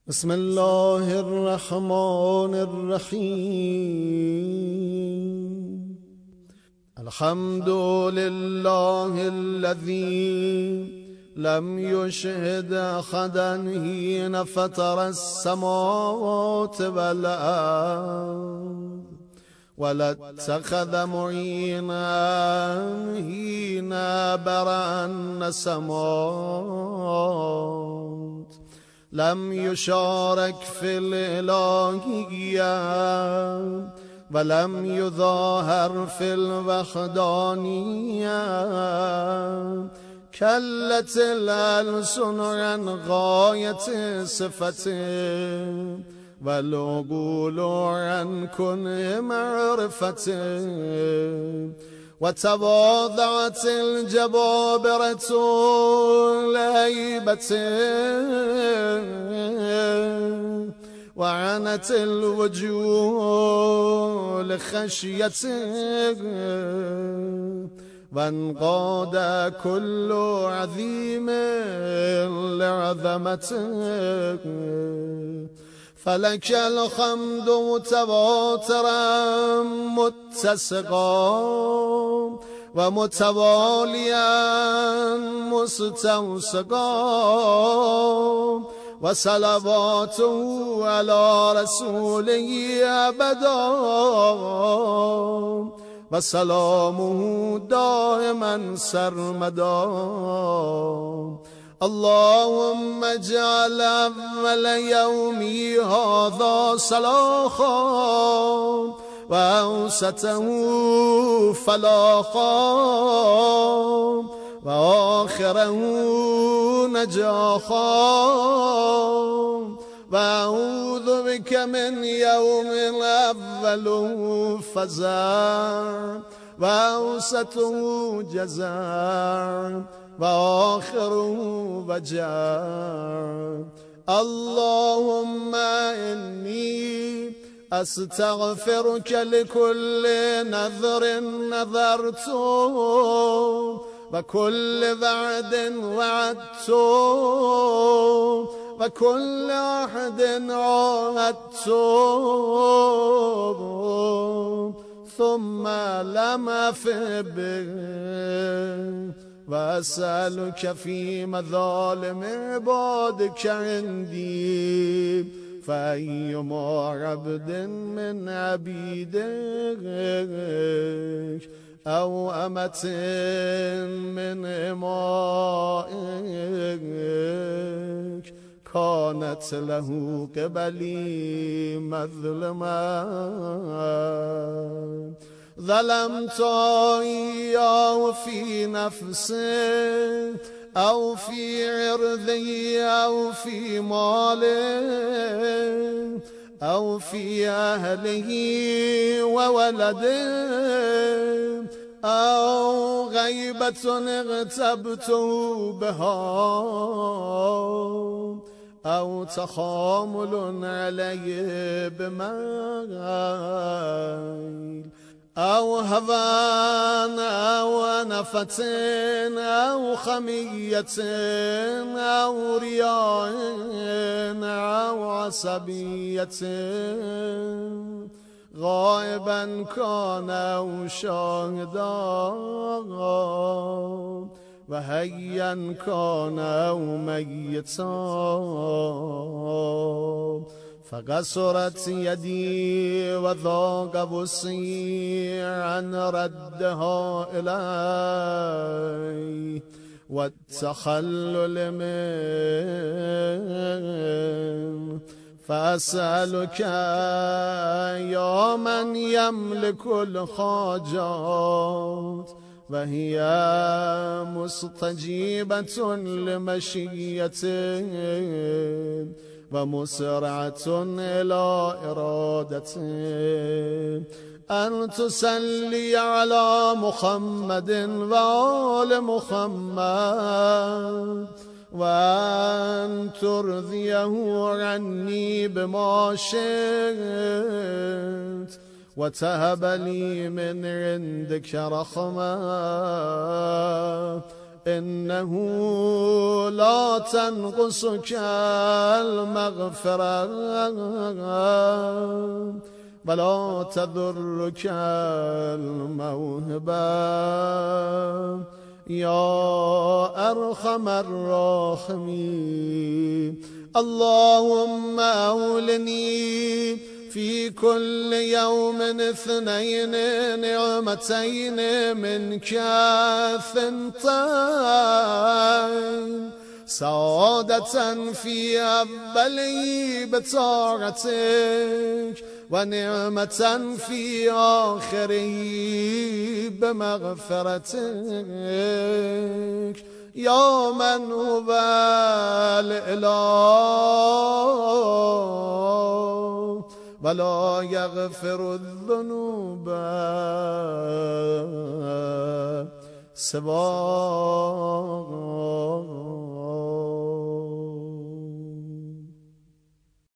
بسم الله الرحمن الرحيم. الحمد لله الذي لم يشهد أحدا حين فطر السماوات والأرض ولا اتخذ معينا حين برأ السماوات. لم يشارك في الإلهية ولم يظاهر في الوحدانية. كلت الألسن عن غاية صفته والعقول عن كنه معرفته، وتواضعت الجبابرة لهيبته، وعنت الوجوه لخشيته، وانقاد كل عظيم لعظمته. فلك الحمد متواترا متسقا ومتواليا مستوسقا، وصلواته على رسوله أبدا، وسلامه دائما سرمدا. اللهم اجعل أول يومي هذا صلاحا، وأوسطه فلاحا، وآخره نجاحا. وأعوذ بك من يوم الأول فزع، وأوسطه جزع، وآخره وجع. اللهم إني أستغفرك لكل نذر نذرته، وكل وعد وعدته، وكل عهد عاهدته، ثم لم أف به. وأسألك في مظالم عبادك عندي، فأيما عبد من عبيدك أو أمة من إمائك كانت له قبلي مظلمة، ظلمت إياه في نفسي أو في عرضي أو في مالي أو في أهله وولده، أو غيبة اغتبته بها، أو تخامل عليه بميل، أو هوان أو نفة أو خمية أو رياء أو عصبية، غائبا كان أو شاهدا، وحيا كان أو ميتا. فقصرت يدي وذاق وسعي عن ردها إلي والتخلل منه. فأسألك يا من يملك الحاجات وهي مستجيبة لمشيته ومسرعة إلى إرادته، أن تصلي على محمد وآل محمد، وأن ترضيه عني بما شئت، وتهب لي من عندك رحمة، إنه لا تنقصك المغفرة ولا تضرك الموهبة يا أرحم الراحمين. اللهم أولني في كل يوم 2 نعمتين منك 2 سعادة في أولي بطاعتك ونعمة في آخره بمغفرتك يا من هو الإله ولا يغفر الذنوب سواك.